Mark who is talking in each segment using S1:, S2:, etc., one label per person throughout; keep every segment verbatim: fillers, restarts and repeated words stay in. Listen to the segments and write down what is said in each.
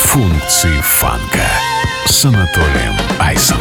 S1: Функции фанка с Анатолием Айсом.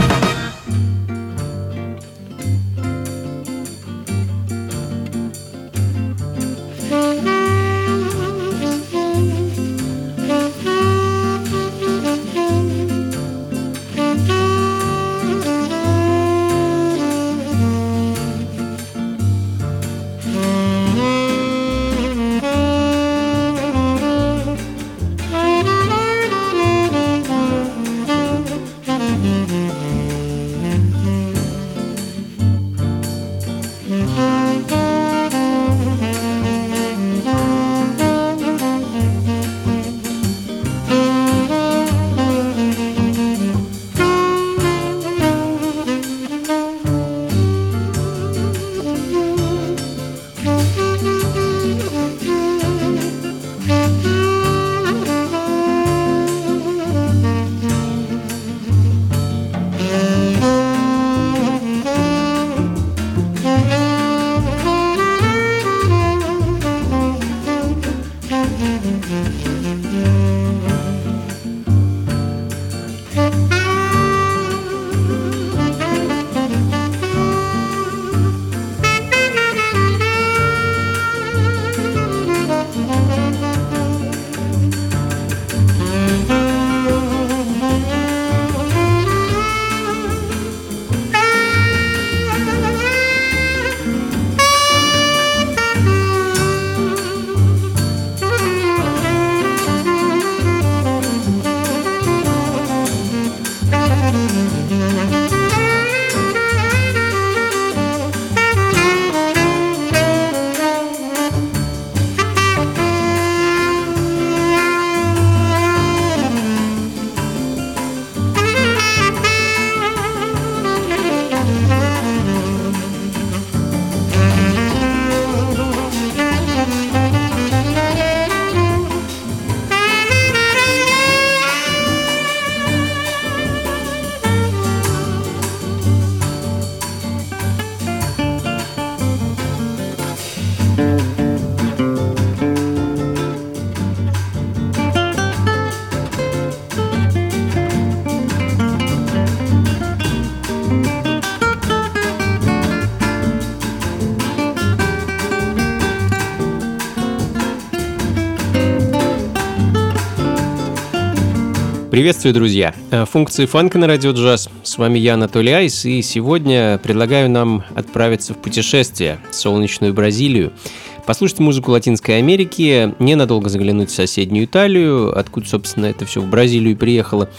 S2: Приветствую, друзья! Функции фанка на радио джаз. С вами я, Анатолий Айс, и сегодня предлагаю нам отправиться в путешествие в солнечную Бразилию, послушать музыку Латинской Америки, ненадолго заглянуть в соседнюю Италию, откуда, собственно, это все в Бразилию приехало.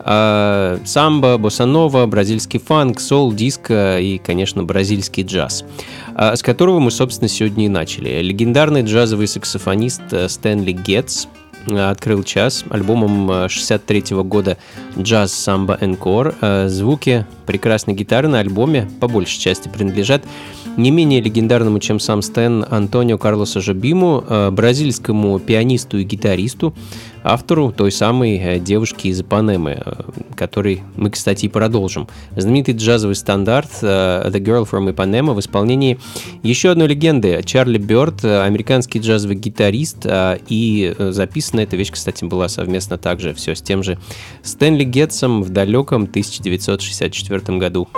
S2: А, самбо, боссанова, бразильский фанк, соул, диско и, конечно, бразильский джаз, а, с которого мы, собственно, сегодня и начали. Легендарный джазовый саксофонист Стэнли Гетц открыл час альбомом шестьдесят третьего года «Jazz Samba Encore». Звуки прекрасной гитары на альбоме по большей части принадлежат не менее легендарному, чем сам Стэн, Антонио Карлосу Жобиму, бразильскому пианисту и гитаристу, автору той самой «Девушки из Ипанемы», который мы, кстати, и продолжим. Знаменитый джазовый стандарт «The Girl from Ipanema» в исполнении еще одной легенды Чарли Бёрд, американский джазовый гитарист, и записана эта вещь, кстати, была совместно также все с тем же Стэнли Гетцем в далеком тысяча девятьсот шестьдесят четвёртом году.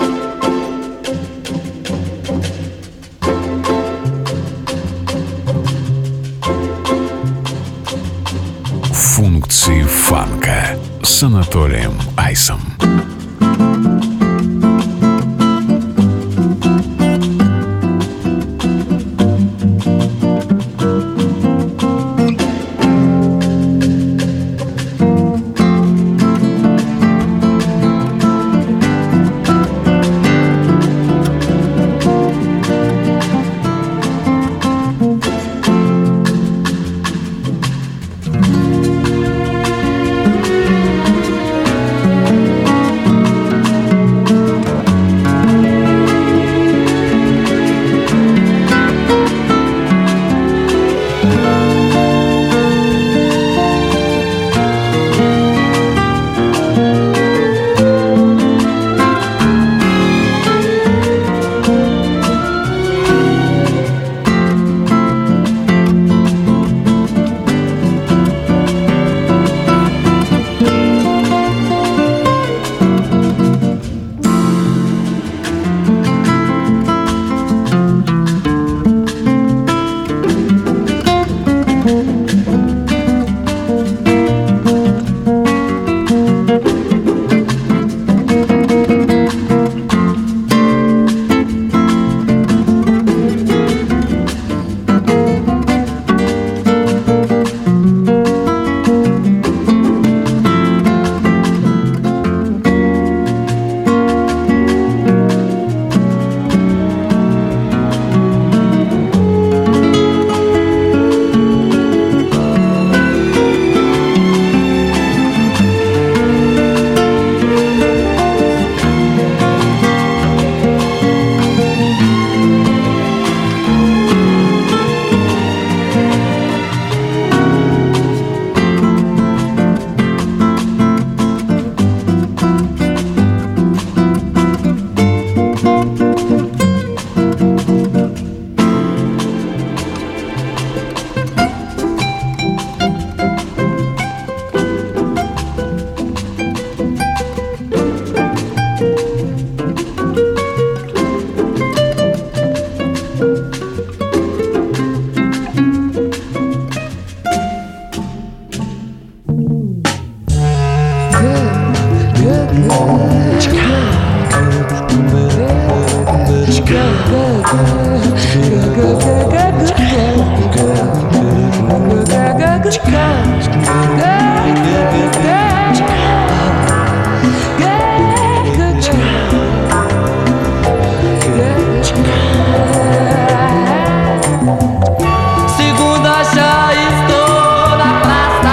S1: Функции фанка с Анатолием Айсом.
S3: Segunda já estou na praça.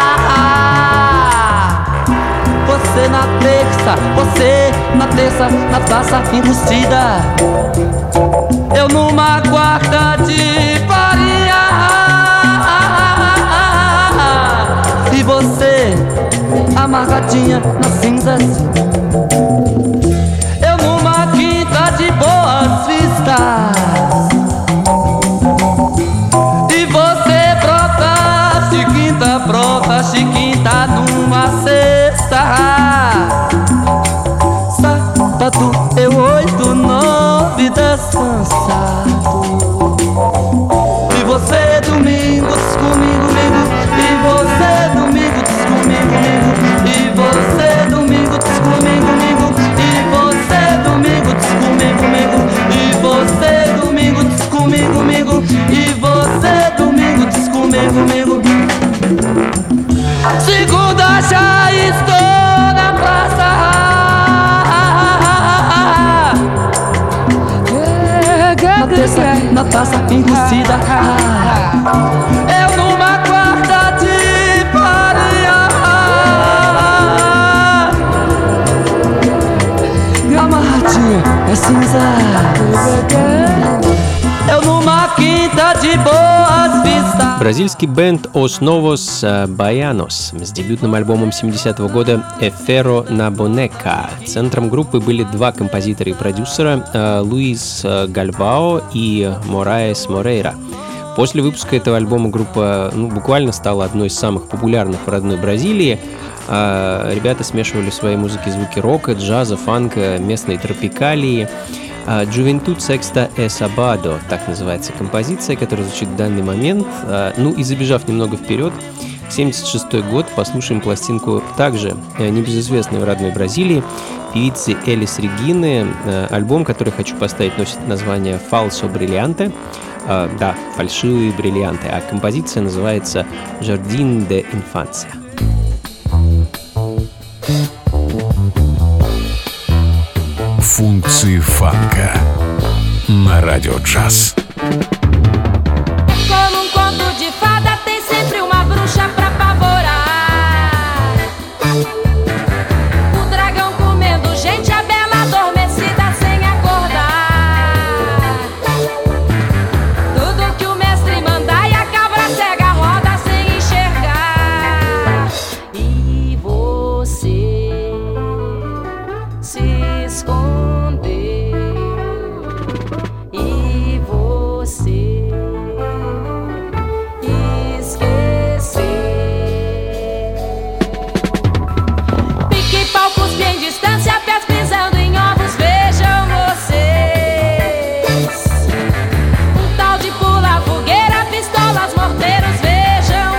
S3: Você na terça, você na terça, na praça enrustida. Eu numa quarta de farinha. E você amarradinha nas cinzas. Eu numa quinta de boas vistas. E você brota, chiquinta, brota, chiquinta numa cesta. Sábado eu oito, nove, dez cansado. E você domingo diz comigo, comigo. E você domingo diz comigo, comigo. E você domingo diz comigo, comigo. E você domingo diz comigo, comigo. E você domingo diz comigo, comigo. E você domingo diz comigo, comigo. Segunda já estou na praça. Na terça, na taça enrustida. Eu numa quarta de farinha. Amarradinha é cinza. Eu numa quinta de boas vistas.
S2: Бразильский бенд Os Novos Baianos с дебютным альбомом семидесятого года «Efero na Boneca». Центром группы были два композитора и продюсера Луис Гальбао и Мораес Морейра. После выпуска этого альбома группа ну, буквально стала одной из самых популярных в родной Бразилии. Ребята смешивали в своей музыке звуки рока, джаза, фанка, местной тропикалии. «Juventud Sexta e Sábado» — так называется композиция, которая звучит в данный момент. Ну и забежав немного вперед, семьдесят шестой год, послушаем пластинку также небезызвестной в родной Бразилии певицы Элис Регины. Альбом, который хочу поставить, носит название «Falso Brilhante». Да, «Фальшивые бриллианты», а композиция называется «Jardim de Infância».
S1: Функции фанка на радио джаз.
S4: Como um conto de fada, tem sempre uma bruxa pra apavorar. O dragão comendo gente, a bela adormecida sem acordar. Tudo que o mestre mandar e a cabra cega roda sem enxergar. E você se esconde. E você esqueceu. Pique-pau, cuspe em distância, pés pisando em ovos, vejam vocês. Um tal de pula fogueira, pistolas, morteiros, vejam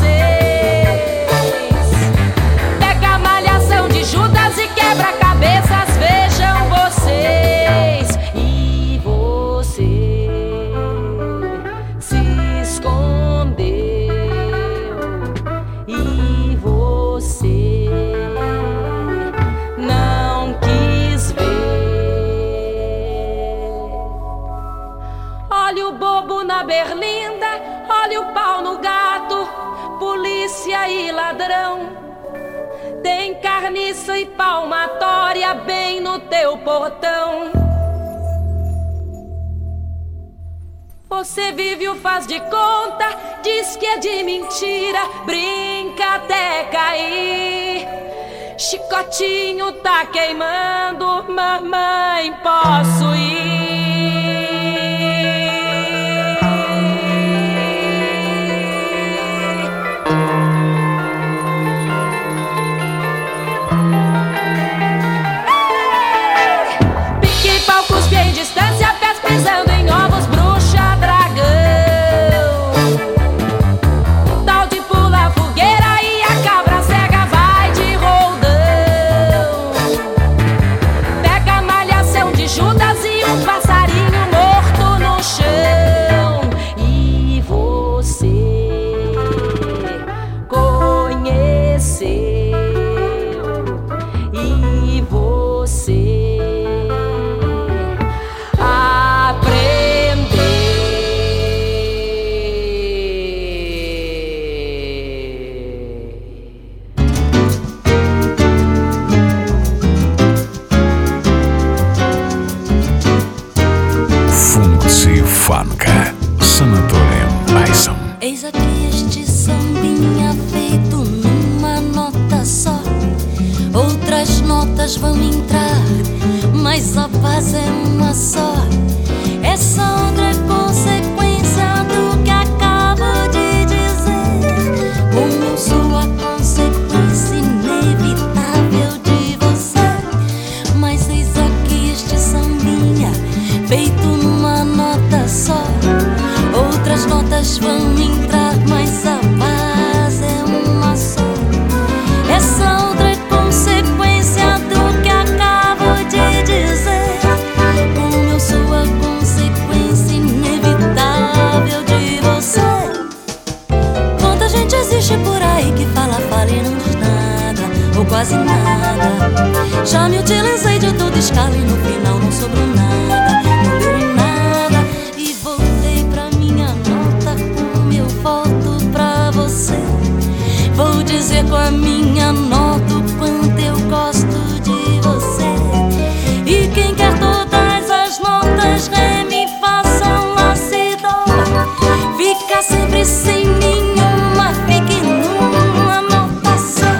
S4: vocês. Pega a malhação de Judas e quebra cabeças, vejam vocês. E você se escondeu. E você não quis ver. Olha o bobo na berlinda, olha o pau no gato, polícia e ladrão. Tem carniça e palmatória bem no teu portão. Você vive o faz de conta, diz que é de mentira, brinca até cair. Chicotinho tá queimando, mamãe, posso ir? Pique-pau, cuspe em distância, pés pisando em ovos, bruxa, dragão. Um tal de pula fogueira e a cabra cega vai de roldão.
S5: notas vão entrar, mas a paz é uma só. Essa outra é consequência do que acabo de dizer. Como eu sou a consequência inevitável de você. Mas eis aqui este sambinha, feito numa nota só. Outras notas vão entrar, mas a paz é uma só. Essa outra é consequência do que acabo de dizer. Como eu sou a consequência inevitável de você. Quanta gente existe por aí que fala, fala e não diz nada, ou quase nada. Já me utilizei de toda escala e no final não sobrou nada, não deu em nada. E voltei pra minha nota como eu volto pra você. Vou dizer com a minha nota o quanto eu gosto de você. E quem quer todas as notas, ré, mi, fá, sol, lá, si, dó, fica sempre sem nenhuma, fique numa nota só.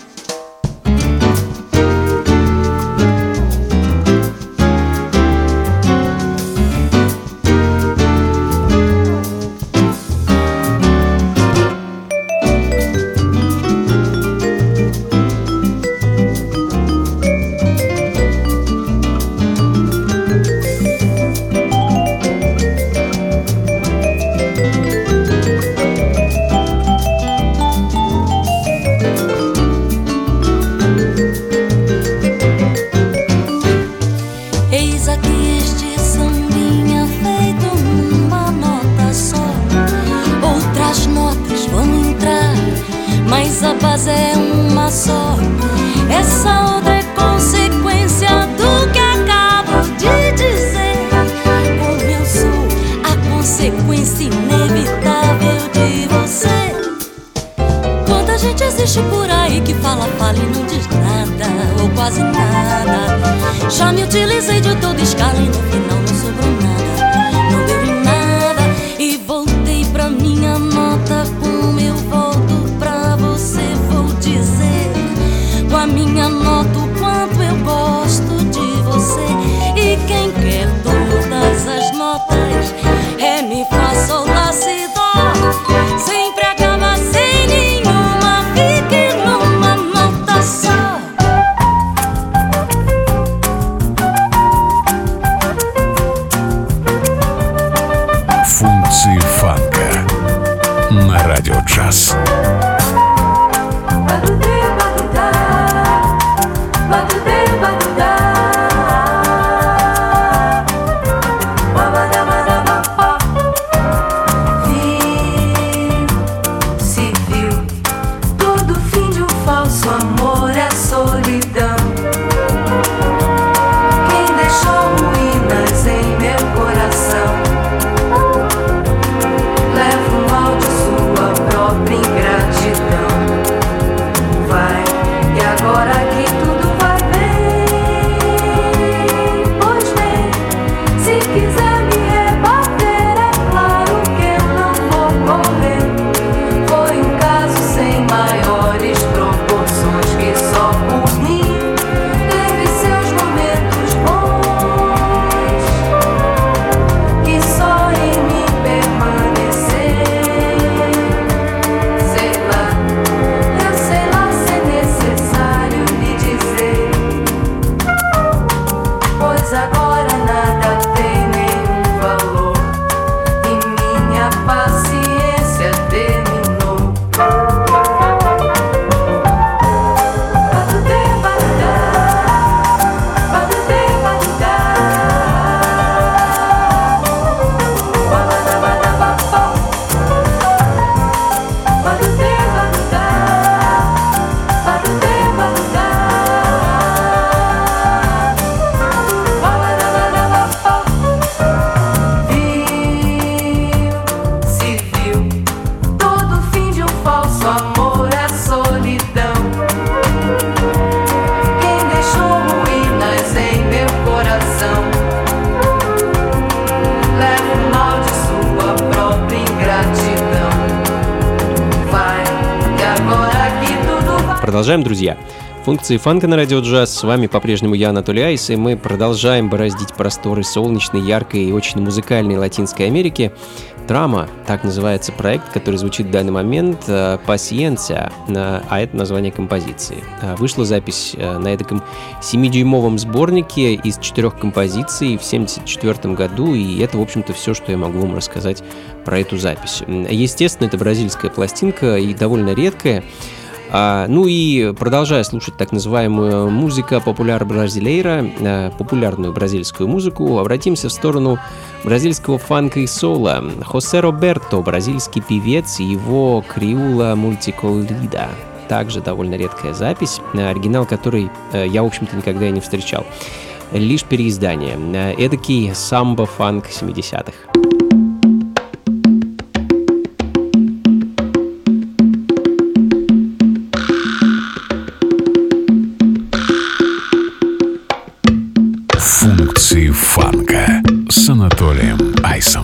S5: Eis aqui este sambinha feito numa nota só. Outras notas vão entrar, mas a base é uma só. Essa outra é consequência do que acabo de dizer. Como eu sou a consequência inevitável de você. Quanta gente existe por aí que fala, fala e não diz nada, ou quase nada. Já me utilizei de toda escala e no final não sobrou nada, não deu em nada. E voltei pra minha nota como eu volto pra você. Vou dizer com a minha nota o quanto eu gosto de você. E quem quer todas as notas, ré, mi, fá, sol, lá, si, dó, sempre acaba sem nenhuma, fique numa nota só.
S1: Функции фанка на Радио Джаз.
S6: Se viu, todo fim de um falso amor é solidão. Quem deixou ruínas em meu coração leva o mal de sua própria ingratidão. Vai, e agora que tudo vai bem. Pois bem, se quiser me rebater, é claro que eu não vou correr. Foi um caso sem maiores proporções que só por mim teve seus momentos bons, que só em mim permanecer. Sei lá, eu sei lá se é necessário lhe dizer, pois agora nada tem nenhum valor e minha paciência terminou. Se viu, todo fim de um falso amor é solidão. Quem deixou ruínas em meu coração leva o mal de sua própria ingratidão. Vai, e agora que tudo vai.
S2: Продолжаем, друзья. Функции фанка на радио джаз. С вами по-прежнему я, Анатолий Айс, и мы продолжаем бороздить просторы солнечной, яркой и очень музыкальной Латинской Америки. Драма, так называется проект, который звучит в данный момент, «Пасьенция», а это название композиции. Вышла запись на этом семидюймовом сборнике из четырех композиций в семьдесят четвёртом году, и это, в общем-то, все, что я могу вам рассказать про эту запись. Естественно, это бразильская пластинка и довольно редкая. А, ну и продолжая слушать так называемую музыка популяр бразилейра, а, популярную бразильскую музыку, обратимся в сторону бразильского фанка и сола. Хосе Роберто, бразильский певец, и его Криула Мультиколрида. Также довольно редкая запись, оригинал которой я, в общем-то, никогда и не встречал. Лишь переиздание. Эдакий самбо-фанк семидесятых.
S1: Функции фанка с Анатолием Айсом.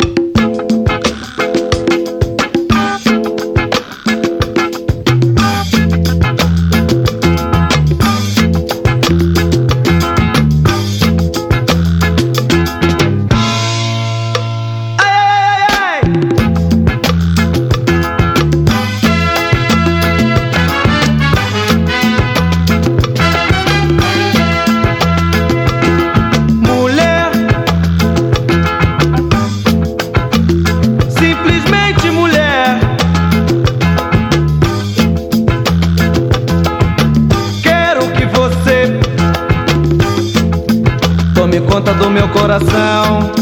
S3: Conta do meu coração.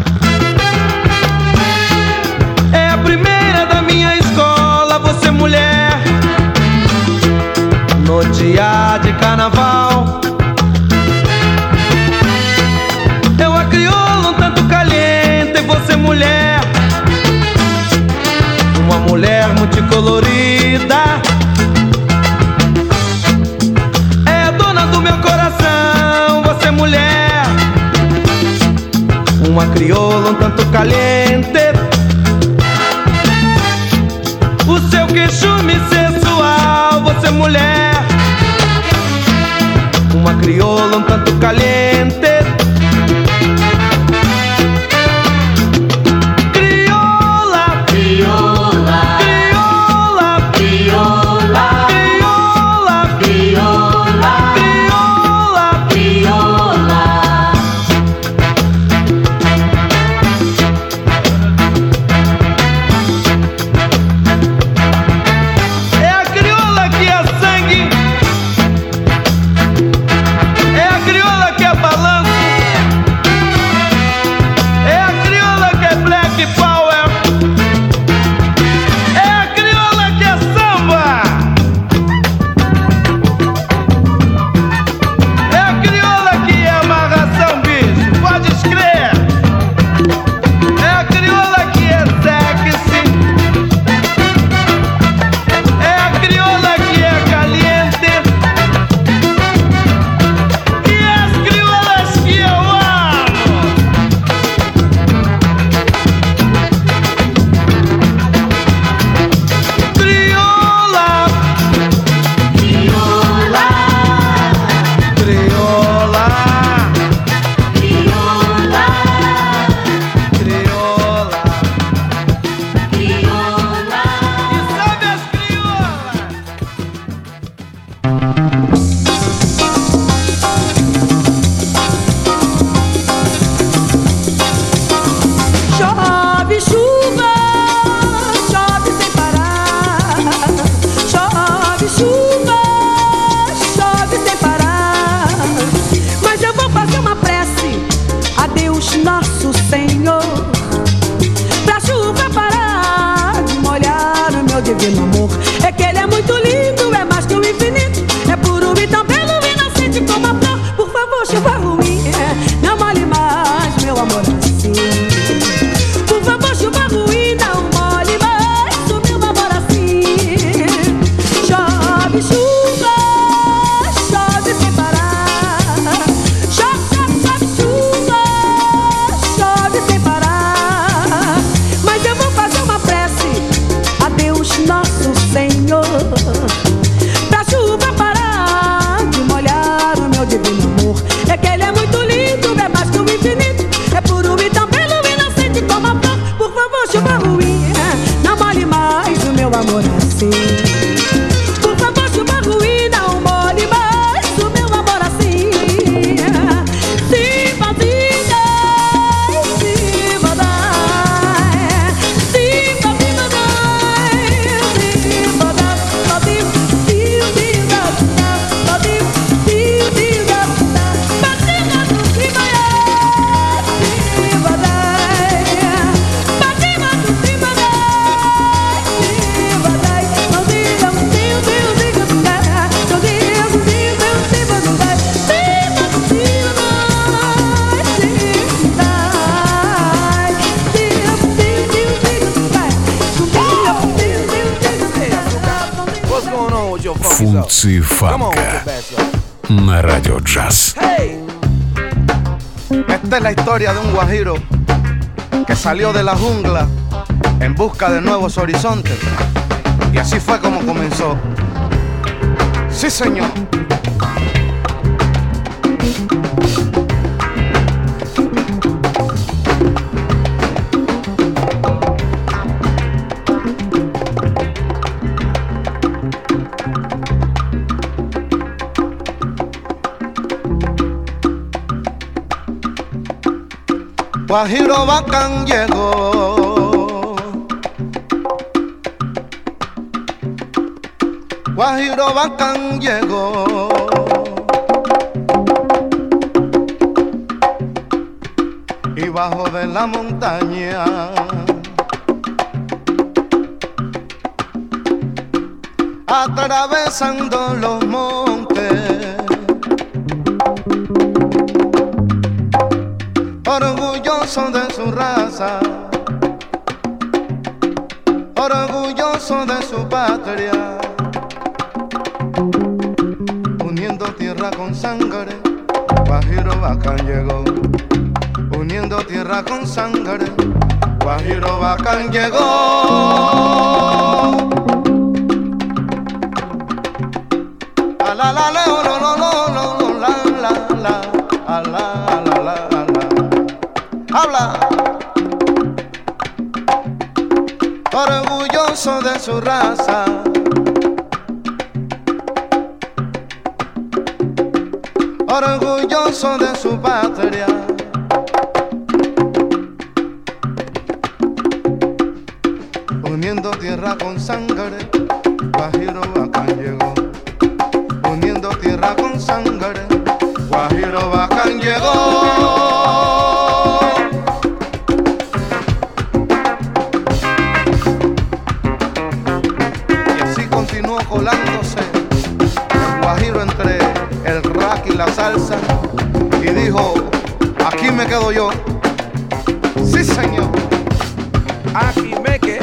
S3: É a primeira da minha escola, você mulher. No dia de carnaval, eu a crioula um tanto caliente, você mulher. Uma mulher multicolorida. É a dona do meu coração, você mulher. Uma crioula um tanto caliente. O seu queixume sensual, você mulher. Uma crioula um tanto caliente. Crioula, crioula, crioula, crioula, crioula, crioula, crioula, crioula. É a crioula que é
S1: Функции фанка на Радио Джаз.
S7: Esta es la historia de un guajiro que salió de la jungla en busca de nuevos horizontes. Y así fue como comenzó. Sí, señor. Guajiro bacán llegó, Guajiro bacán llegó, y bajo de la montaña atravesando los montes, orgulloso de su raza, orgulloso de su patria, uniendo tierra con sangre, Guajiro bacán llegó, uniendo tierra con sangre, Guajiro bacán llegó. A la la la lo lo lo lo la la la a la la la la. Habla, orgulloso de su raza, orgulloso de su patria, uniendo tierra con sangre, Guajiro bacán llegó, uniendo tierra con sangre, Guajiro bacán llegó. Colándose el guajiro entre el rack y la salsa y dijo, aquí me quedo yo. Sí, señor. Aquí me quedo.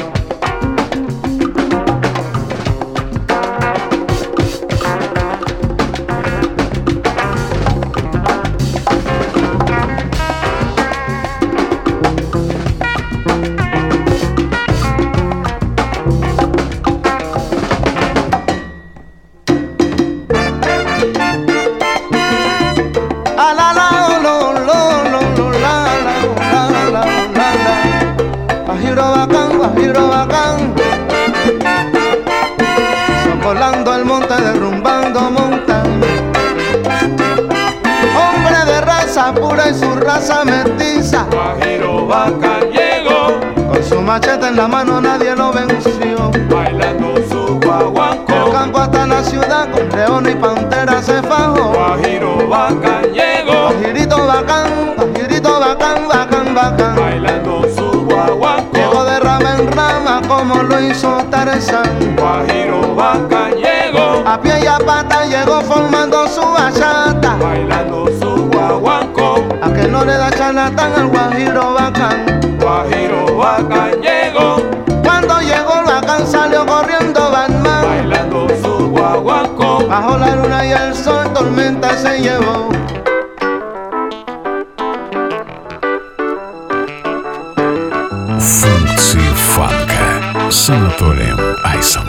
S7: Volando el monte, derrumbando montaña, hombre de raza pura y su raza mestiza,
S8: Guajiro bacán llegó,
S7: con su machete en la mano nadie lo venció,
S8: bailando su guaguancó,
S7: del campo hasta la ciudad con león y pantera se fajó.
S8: Guajiro bacán llegó,
S7: Guajirito bacán, guajirito bacán, bacán, bacán,
S8: bailando su guaguancó,
S7: llegó de rama en rama como lo hizo Tarzán.
S8: Guajiro bacán llegó,
S7: a pie y a pata llegó formando su bachata,
S8: bailando su guaguancó,
S7: a que no le da charlatán al Guajiro bacán.
S8: Guajiro bacán llegó,
S7: cuando llegó el bacán salió corriendo Batman,
S8: bailando su guaguancó,
S7: bajo la luna y el sol tormenta se llevó.
S1: Функции фанка с Анатолием Айсом.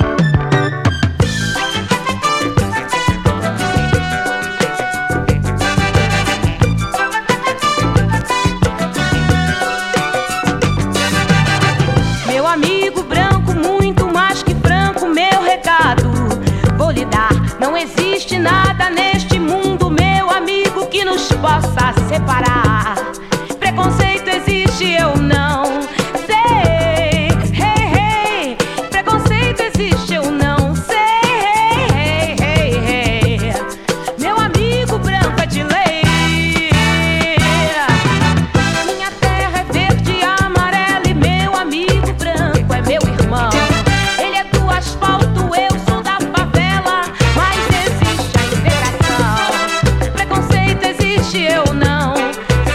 S4: Meu amigo branco, muito mais que franco, meu recado vou lhe dar. Não existe nada neste mundo, meu amigo, que nos possa separar. Preconceito existe, eu não sei. Hey, hey. Preconceito existe, eu não sei. Hey, hey, hey. Meu amigo branco é de lei. Minha terra é verde e amarela e meu amigo branco é meu irmão. Ele é do asfalto, eu sou da favela, mas existe a integração. Preconceito existe, eu não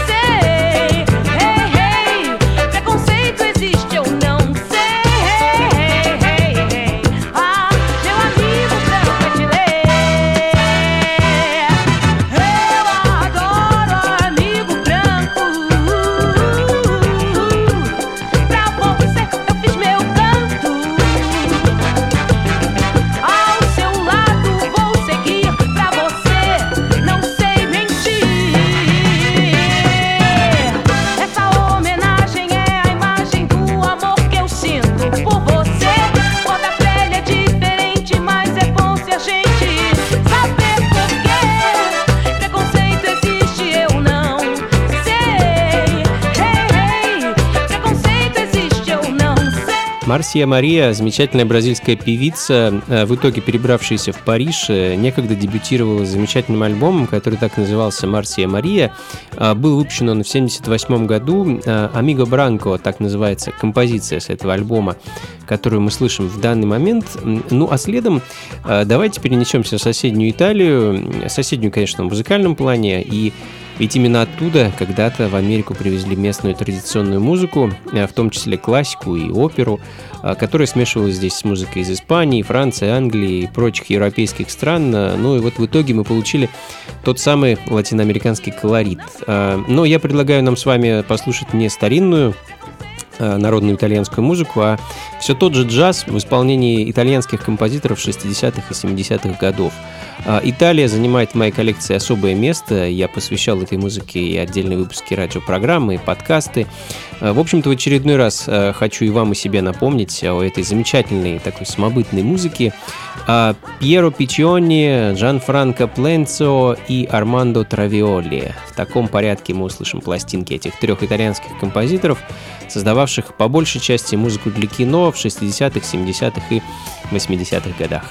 S2: Марсия Мария, замечательная бразильская певица, в итоге перебравшаяся в Париж, некогда дебютировала с замечательным альбомом, который так назывался «Марсия Мария». Был выпущен он в семьдесят восьмом году. «Амиго Бранко», так называется композиция с этого альбома, которую мы слышим в данный момент. Ну, а следом давайте перенесемся в соседнюю Италию, соседнюю, конечно, в музыкальном плане, и ведь именно оттуда когда-то в Америку привезли местную традиционную музыку, в том числе классику и оперу, которая смешивалась здесь с музыкой из Испании, Франции, Англии и прочих европейских стран. Ну и вот в итоге мы получили тот самый латиноамериканский колорит. Но я предлагаю нам с вами послушать не старинную народную итальянскую музыку, а все тот же джаз в исполнении итальянских композиторов шестидесятых и семидесятых годов. Италия занимает в моей коллекции особое место. Я посвящал этой музыке и отдельные выпуски радиопрограммы, и подкасты. В общем-то, в очередной раз хочу и вам, и себе напомнить о этой замечательной такой самобытной музыке. Пьеро Пиччиони, Джанфранко Пленцо и Армандо Травиоли. В таком порядке мы услышим пластинки этих трех итальянских композиторов, создававших по большей части музыку для кино в шестидесятых, семидесятых и восьмидесятых годах.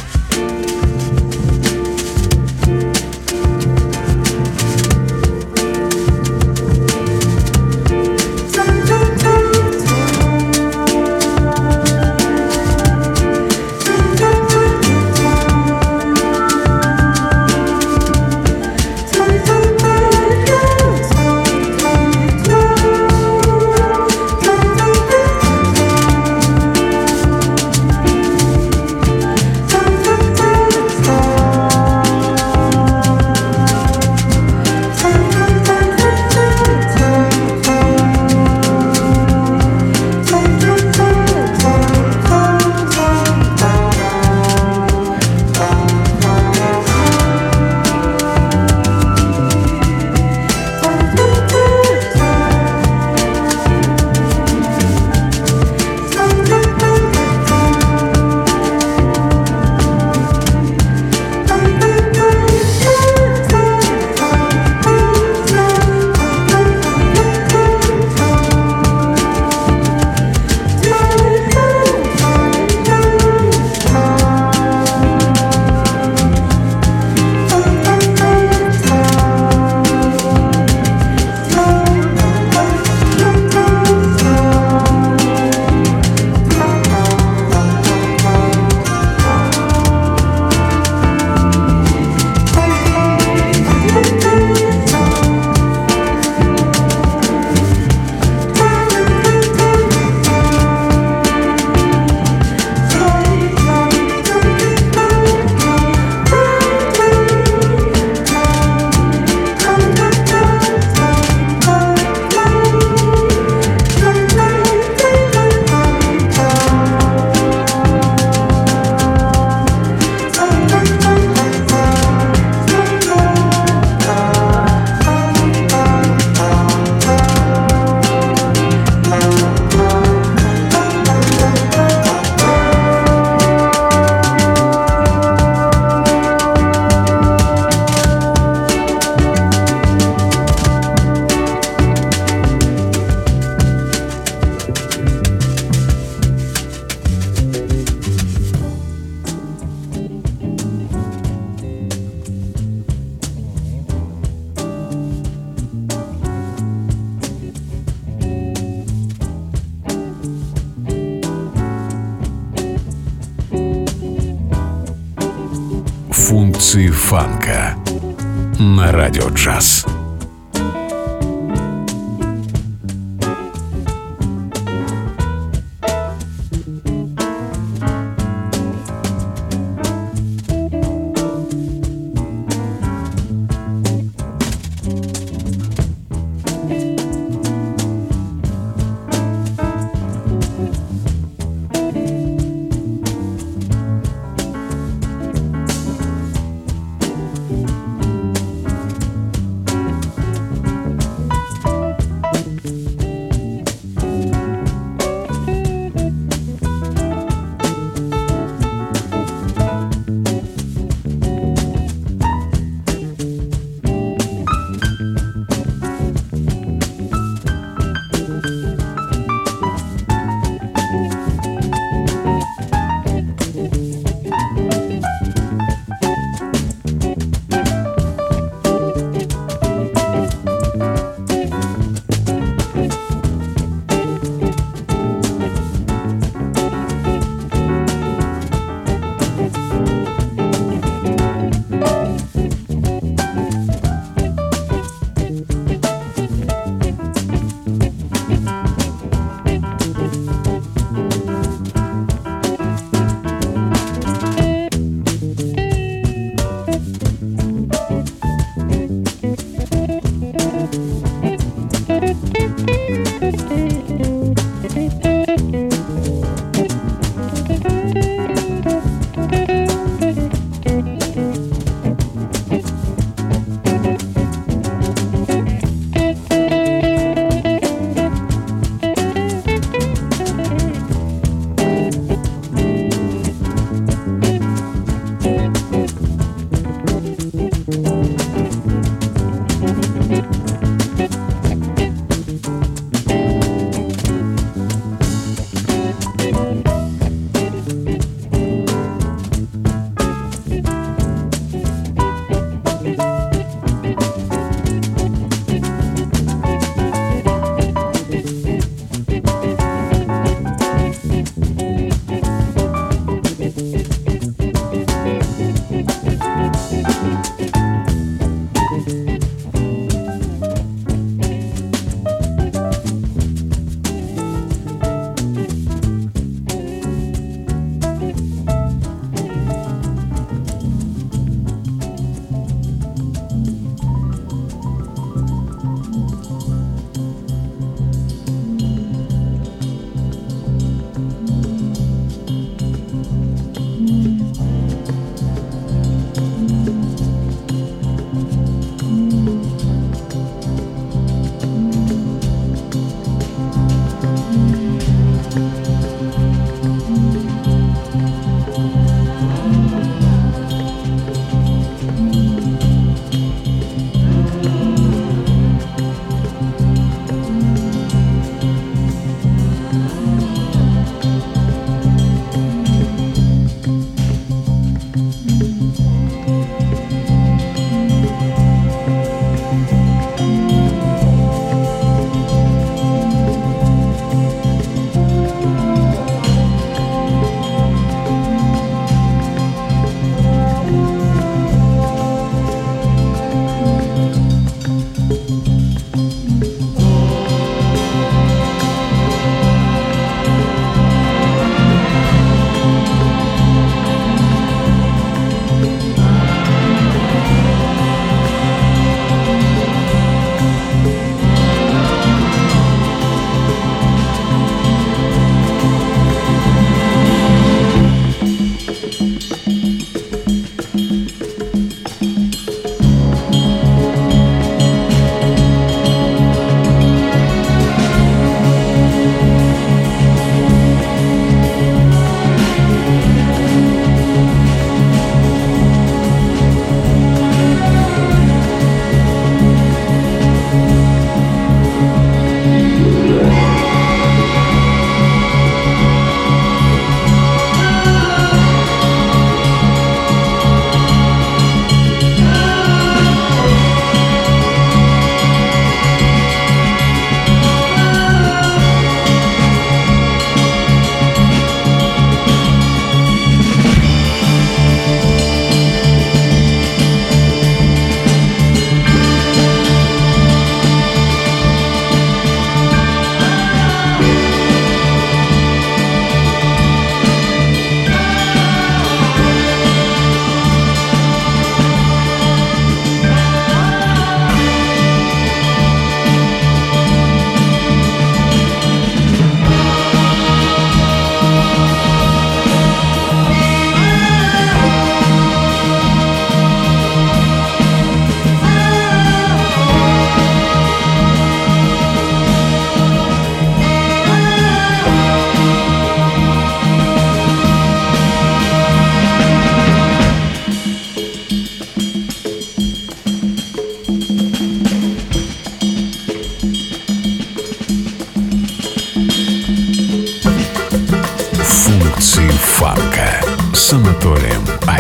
S1: Функции фанка на Радио Джаз.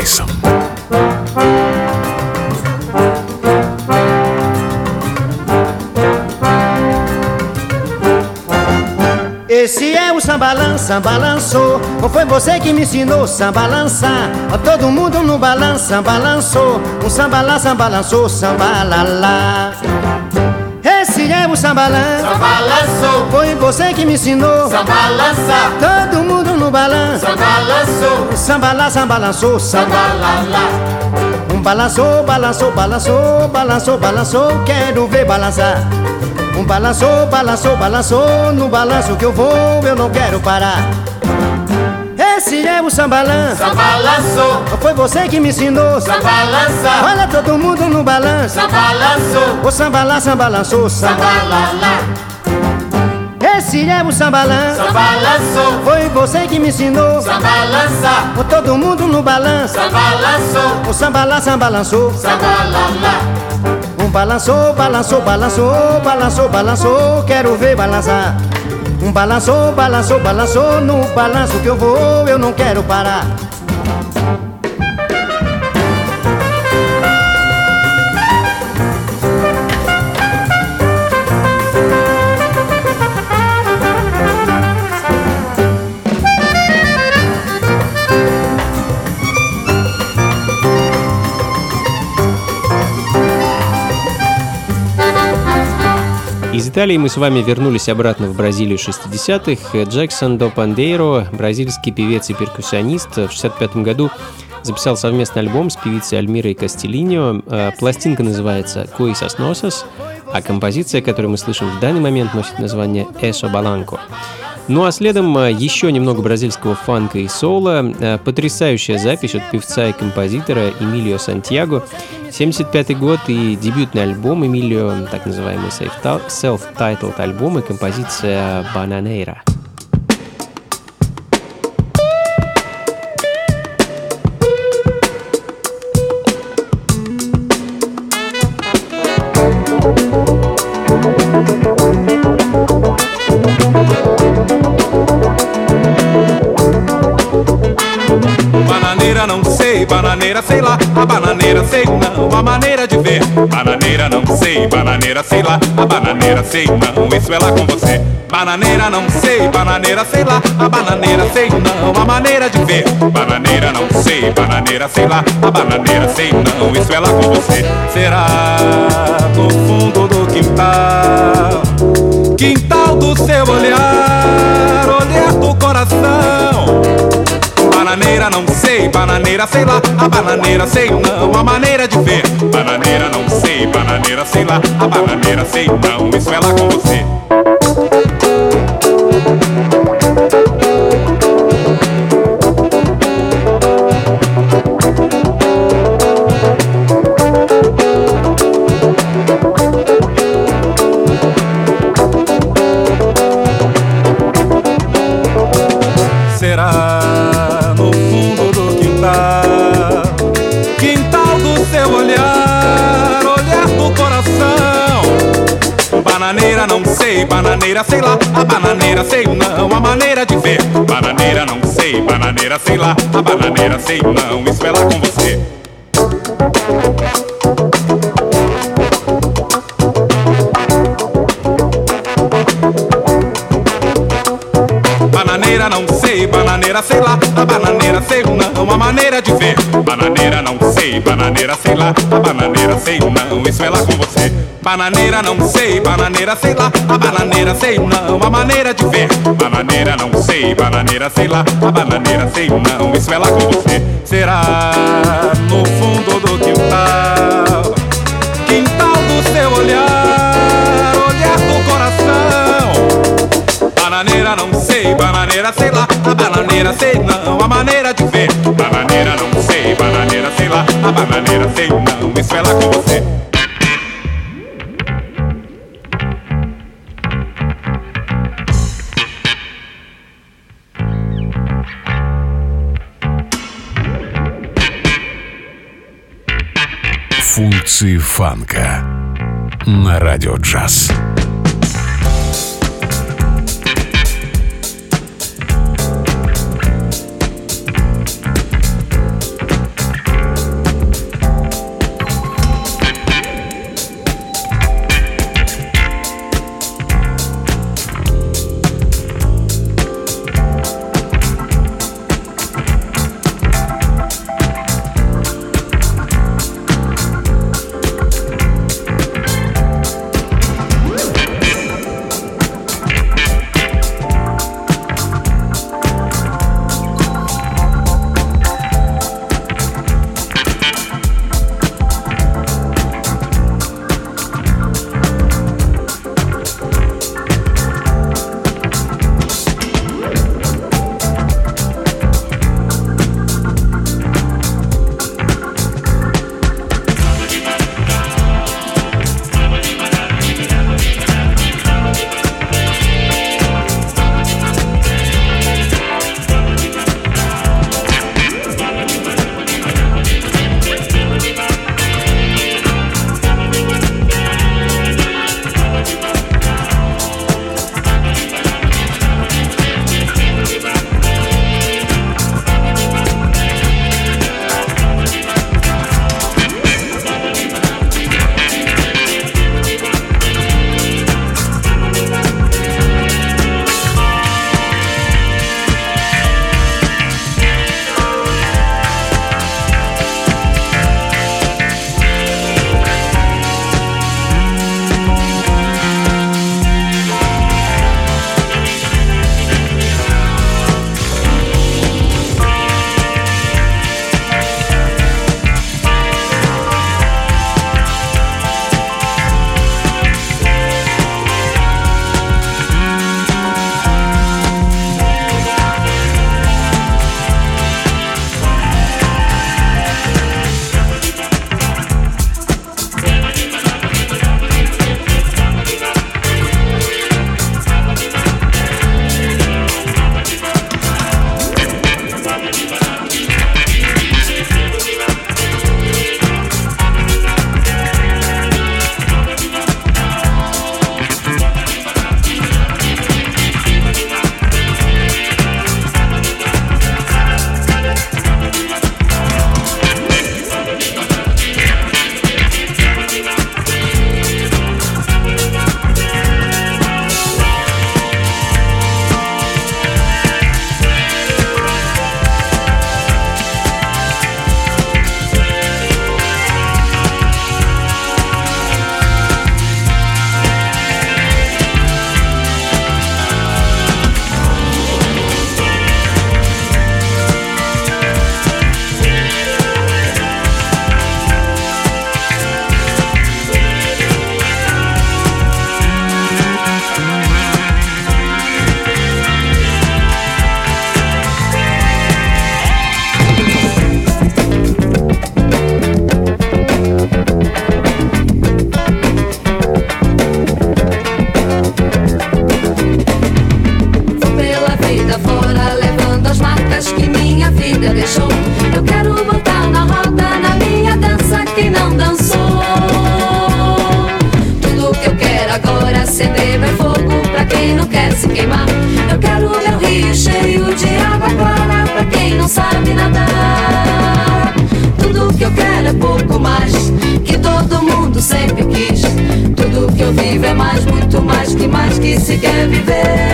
S1: Райсом.
S9: Esse é o sambalança, balançou. Ou foi você que me ensinou samba lançar? Todo mundo no balança, balançou. Um sambalança, balançou, sambalala. Esse é o sambalança,
S10: sambalançou.
S9: Foi você que me ensinou
S10: samba lançar.
S9: Todo mundo no balança,
S10: sambalançou.
S9: Sambalança, balançou, sambalala. Um balançou, balançou, balançou, balançou, balançou. Quero ver balançar. Um balançou, balançou, balançou. No balanço que eu vou, eu não quero parar. Esse é o sambalança,
S10: sambalançou.
S9: Foi você que me ensinou
S10: samba lançar.
S9: Olha todo mundo no balanço,
S10: sambalançou.
S9: O sambalança, balançou, sambalala. Esse é o sambalança,
S10: sambalançou.
S9: Foi você que me ensinou
S10: samba lançar.
S9: Todo mundo no balanço,
S10: sambalançou.
S9: O sambalança, balançou,
S10: sambalala.
S9: Um balançou, balançou, balançou, balançou, balançou, quero ver balançar. Um balançou, balançou, balançou, no balanço que eu vou, eu não quero parar.
S2: Из Италии мы с вами вернулись обратно в Бразилию шестидесятых. Джексон до Пандейро, бразильский певец и перкуссионист, в шестьдесят пятом году записал совместный альбом с певицей Альмирой Кастелиньо. Пластинка называется «Coisas Nossas», а композиция, которую мы слышим в данный момент, носит название «Eso Balanco». Ну а следом еще немного бразильского фанка и соула. Потрясающая запись от певца и композитора Эмилио Сантьяго. семьдесят пятый год и дебютный альбом Эмилио, так называемый self-titled альбом и композиция «Bananeira».
S8: Bananeira não sei, bananeira sei lá, a bananeira sei não, a maneira de ver. Bananeira não sei, bananeira sei lá, a bananeira sei não, isso é lá com você. Bananeira não sei, bananeira sei lá, a bananeira sei não, a maneira de ver. Bananeira não sei, bananeira sei lá, a bananeira sei não, isso é lá com você. Será no fundo do quintal, quintal do seu olhar, olhar do coração. Bananeira não sei, bananeira sei lá, a bananeira sei não, a maneira de ver. Bananeira não sei, bananeira sei lá, a bananeira sei não, isso é lá com você. Será no fundo do quintal, quintal do seu olhar, olhar do coração. Bananeira não sei, bananeira sei lá, a bananeira sei não, a maneira de ver. Bananeira não sei, bananeira sei lá, a bananeira sei não, isso é lá com você. Bananeira não sei, bananeira sei lá, a bananeira sei não, a maneira de ver. Bananeira não sei, bananeira sei lá, a bananeira sei não, isso é lá com você. Bananeira não sei, bananeira sei lá, a bananeira sei não, a maneira de ver. Bananeira não sei, bananeira sei lá, a bananeira sei não, isso é lá com você. Será no fundo do quintal, quintal do seu olhar, olhar do coração. Bananeira não sei, bananeira sei lá, a bananeira sei não, a maneira de ver. Bananeira não sei, bananeira sei lá, a bananeira sei não, isso é lá com você.
S1: Функции фанка на Радио Джаз.
S6: é pouco mais que todo mundo sempre quis. Tudo que eu vivo é mais, muito mais que mais que se quer viver.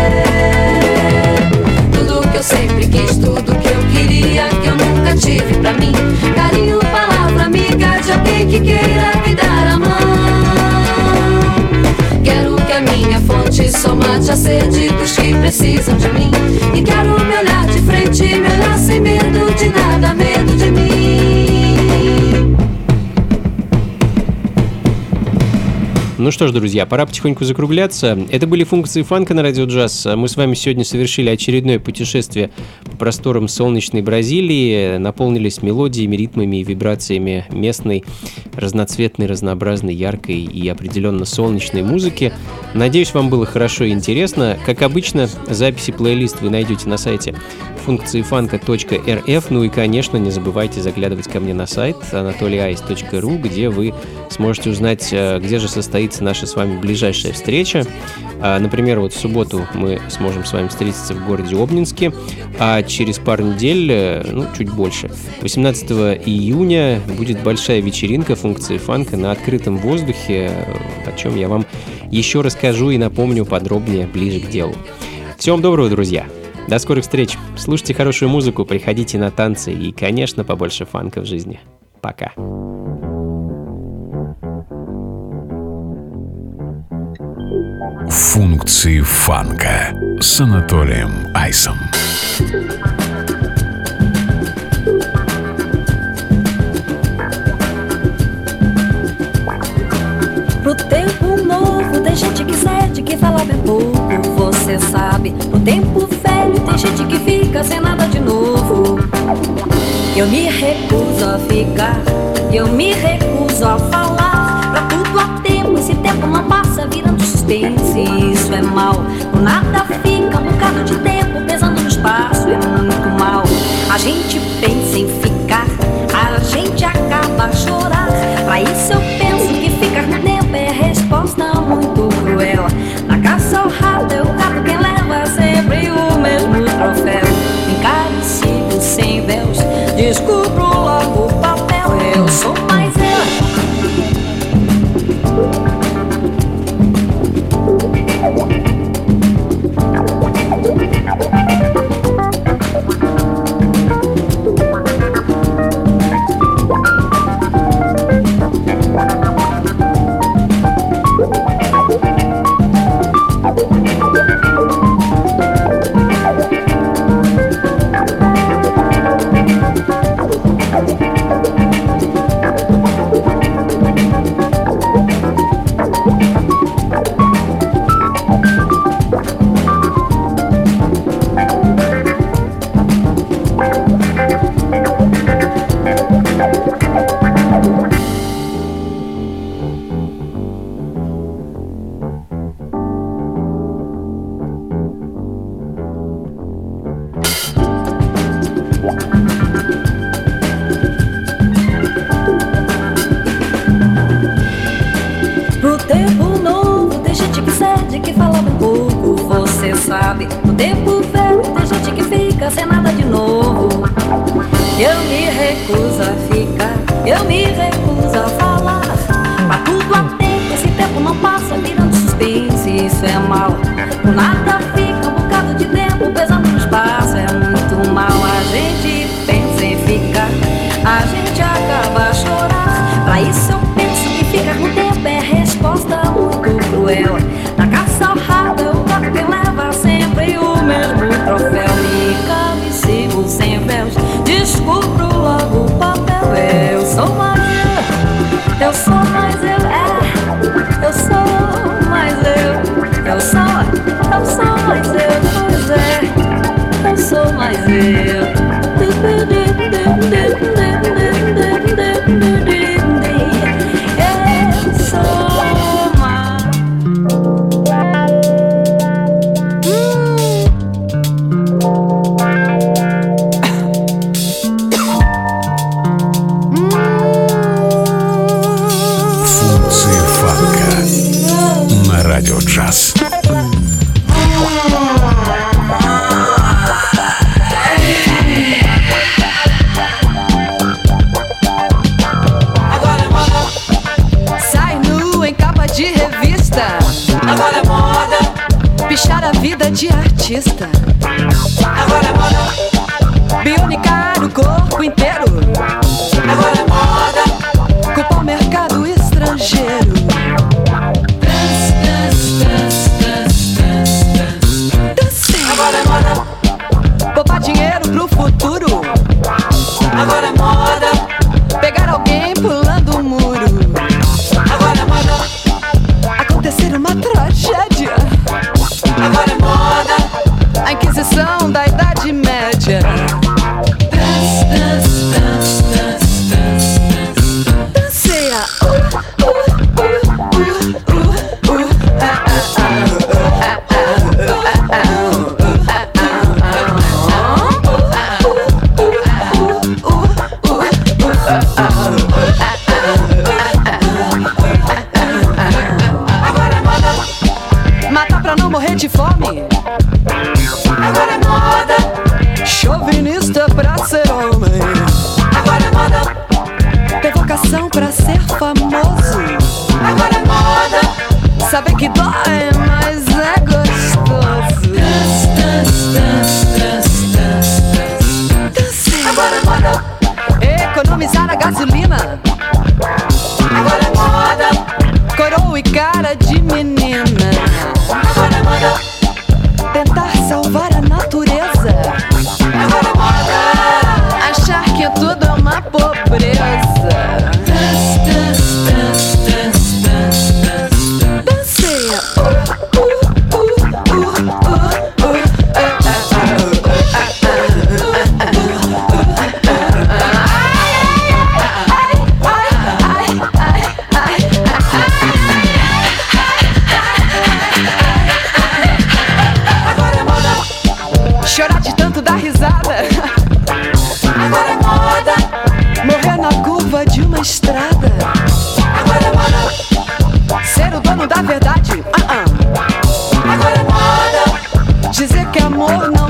S6: Tudo que eu sempre quis, tudo que eu queria, que eu nunca tive pra mim. Carinho, palavra amiga de alguém que queira me dar a mão. Quero que a minha fonte só mate a sede dos que precisam de mim. E quero me olhar de frente, me olhar sem medo de nada, medo de mim.
S2: Ну что ж, друзья, пора потихоньку закругляться. Это были функции фанка на Радио Джаз. Мы с вами сегодня совершили очередное путешествие по просторам солнечной Бразилии, наполнились мелодиями, ритмами и вибрациями местной, разноцветной, разнообразной, яркой и определенно солнечной музыки. Надеюсь, вам было хорошо и интересно. Как обычно, записи плейлист вы найдете на сайте функции фанка точка эр эф. Ну и, конечно, не забывайте заглядывать ко мне на сайт анатолий айс точка ру, где вы сможете узнать, где же состоится наша с вами ближайшая встреча. Например, вот в субботу мы сможем с вами встретиться в городе Обнинске, а через пару недель, ну, чуть больше, восемнадцатого июня будет большая вечеринка функции фанка на открытом воздухе, о чем я вам еще расскажу и напомню подробнее ближе к делу. Всем доброго, друзья! До скорых встреч! Слушайте хорошую музыку, приходите на танцы и, конечно, побольше фанка в жизни. Пока!
S1: Функции фанка с Анатолием Айсом.
S5: Pro tempo novo tem gente que cede, que fala bem pouco, você sabe. Pro tempo velho tem gente que fica sem nada de novo. Eu me recuso a ficar, eu me recuso a falar. Pra tudo há tempo, esse tempo não passa virando suspense. Isso é mal, por nada fica um bocado de tempo pesando no espaço, é muito mal. A gente pensa em ficar, a gente acaba a chorar. Pra isso eu penso que ficar no tempo é resposta muito cruel. Na caça ao rato é o gato quem leva sempre o mesmo troféu. Encarecido sem véus, descubro logo o papel. Eu sou mais eu. Pro tempo novo tem gente que cede, que fala bem pouco, você sabe. No tempo velho tem gente que fica sem nada de novo. Eu me recuso a ficar, eu me recuso a falar. Pra tudo há tempo, esse tempo não passa virando suspense, isso é mal. Por nada fica um bocado de tempo pesando no espaço, é muito mal. A gente pensa em ficar, a gente acaba a chorar. Pra isso eu penso que ficar no tempo é resposta muito cruel. Na caça ao rato é o gato que leva sempre o mesmo troféu. Me calo e sigo sem véus, descubro logo o papel. Eu sou mais eu, eu sou mais eu, é. Eu sou mais eu, eu sou, eu sou mais eu, pois é. Eu sou mais eu.
S1: Радио Джаз.
S11: de artista.
S10: Agora é moda.
S11: Bionicar o corpo inteiro.
S10: Agora é moda.
S11: Culpar o mercado estrangeiro.
S10: Dance, dance, dance, dance, dance, dance.
S11: Dancei.
S10: Agora é moda.
S11: Poupar dinheiro pro futuro.
S10: Agora é moda.
S11: Pegar alguém pulando um muro.
S10: Agora é moda.
S11: Acontecer uma tragédia.
S10: Agora é moda.
S11: A Inquisição da Idade Média.
S10: Dance, dance, dance, dance, dance, dance.
S11: Dancei a uh, uh, uh, uh, uh, uh, ah, ah, ah, ah, ah, ah, matar pra não morrer de fome.
S10: Agora é moda.
S11: Chauvinista pra ser homem.
S10: Agora é moda.
S11: Ter vocação pra ser famoso.
S10: Agora é moda.
S11: Saber que dói, mas é gostoso.
S10: Dance, dance, dance, dance, dance,
S11: Dancei.
S10: Agora é moda.
S11: Economizar a gasolina.
S10: Agora é moda.
S11: Coroa e cara de menina.
S10: Agora é moda.
S11: Tentar salvar a natureza.
S10: Agora é moda.
S11: Achar que tudo é uma pobreza.
S10: Dance, dance, dance, dance, dance, dance.
S11: Dancei a uh, uh, uh, uh, uh, uh, ah,
S10: Agora é moda.
S11: chorar de tanto dar risada.
S10: Agora é moda.
S11: Morrer na curva de uma estrada.
S10: Agora é moda.
S11: Ser o dono da verdade. Ah, ah.
S10: Agora é moda.
S11: Dizer que amor não